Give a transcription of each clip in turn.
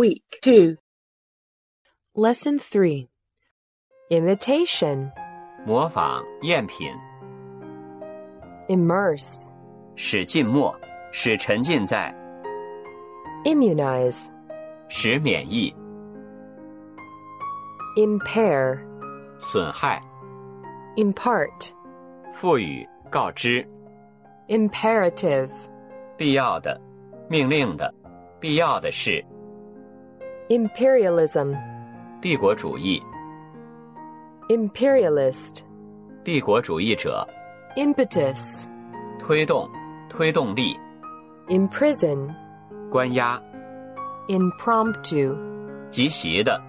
Week 2. Lesson 3. Imitation. 模仿赝品， Immerse. 使浸没，使沉浸在， Immunize. 使免疫， Impair. 损害， Impart. 赋予，告知， Imperative. 必要的，命令的，必要的是， Imperialism. 帝国主义， Imperialist. 帝国主义者， Impetus. 推动，推动力， Imprison. 关押， Impromptu. 即席的，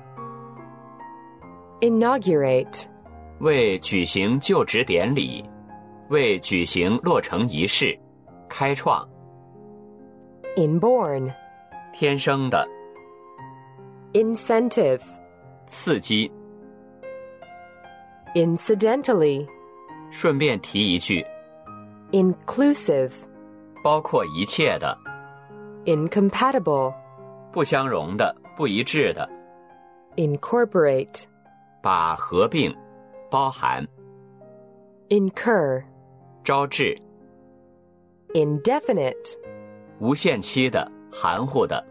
Inaugurate. 为举行就职典礼，为举行落成仪式，开创， Inborn. 天生的， Incentive. 刺激， Incidentally. 顺便提一句， Inclusive. 包括一切的， Incompatible. 不相容的，不一致的， Incorporate. 把合并，包含， Incur. 招致， Indefinite. 无限期的，含糊的，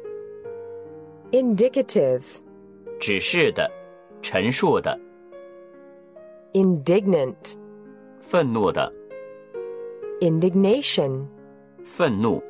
Indicative. 指示的，陈述的， Indignant. 愤怒的， Indignation. 愤怒，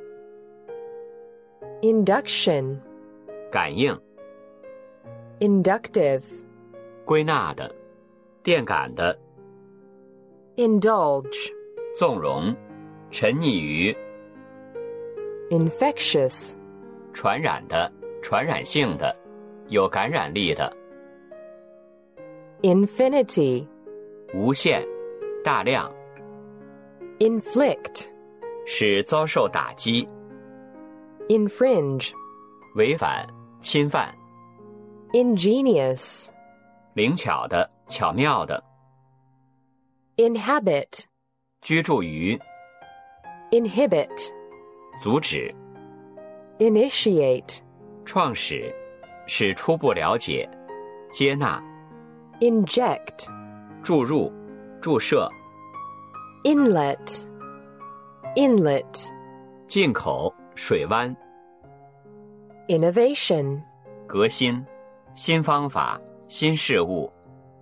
Induction. 感应， Inductive. 归纳的，电感的， Indulge. 纵容，沉溺于， Infectious. 传染的，传染性的，有感染力的， Infinity. 无限，大量， Inflict. 使遭受打击， Infringe. 违反，侵犯， Ingenious. 灵巧的，巧妙的， Inhabit. 居住于， Inhibit. 阻止， Initiate. 创始，使初步了解，接纳， Inject. 注入，注射， Inlet. Inlet. 进口，水湾， Innovation. 革新，新方法，新事物，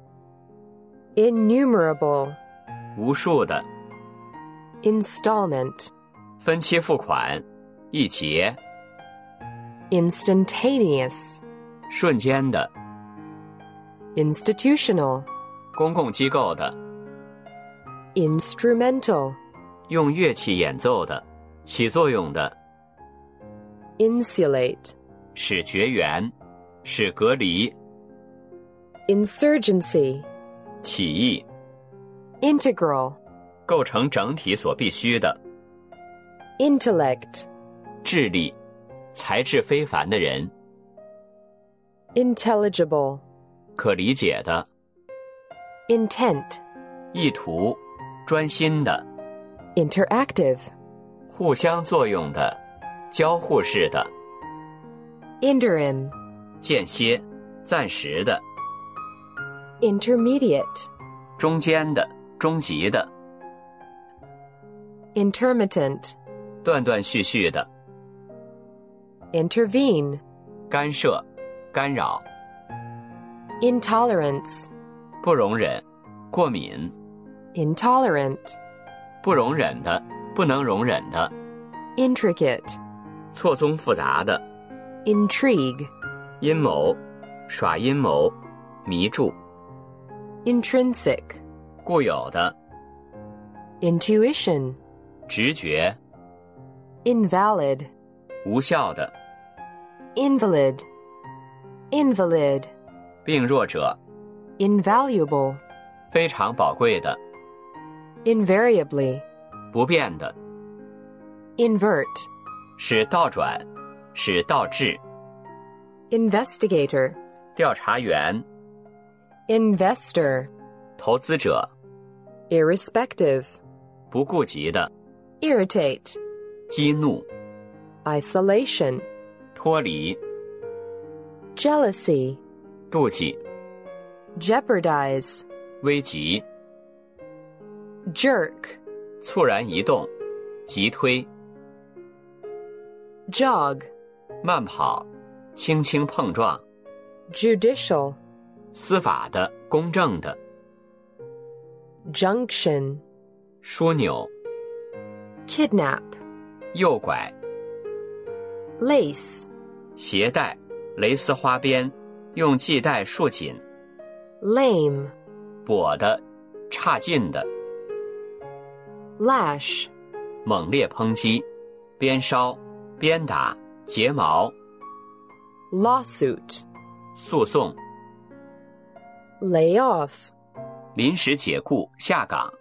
Innumerable. 无数的， Installment. 分期付款，一节， Instantaneous. 瞬间的， Institutional. 公共机构的， Instrumental. 用乐器演奏的，起作用的， Insulate. 使绝缘，使隔离， Insurgency. 起义， Integral. 构成整体所必须的， Intellect. 智力，才智非凡的人， Intelligible. 可理解的， Intent. 意图，专心的， Interactive. 互相作用的，交互式的， Interim. 间歇，暂时的， Intermediate. 中间的，终极的， Intermittent. 断断续续的， Intervene. 干涉，干扰， Intolerance. 不容忍，过敏， Intolerant. 不容忍的，不能容忍的， Intricate. 错综复杂的， Intrigue. 阴谋，耍阴谋，迷住， Intrinsic. 固有的， Intuition. 直觉， Invalid. 无效的， Invalid. Invalid. 病弱者， Invaluable. 非常宝贵的， Invariably. 不变的， Invert. 使倒转，使倒置， Investigator. 调查员， Investor. 投资者， Irrespective. 不顾及的， Irritate. 激怒， Isolation. 脱离， jealousy, 妒忌、 jeopardize, 危急、 jerk, 猝然移动、急推、 jog, 慢跑、轻轻碰撞、 judicial, 司法的、公正的、 junction, 枢纽、 kidnap, 诱拐、 lace, 鞋带、蕾丝花边，用系带束紧、 lame, 跛的、差劲的、 lash, 猛烈抨击、鞭梢、鞭打、睫毛、 lawsuit, 诉讼、 lay off, 临时解雇、下岗。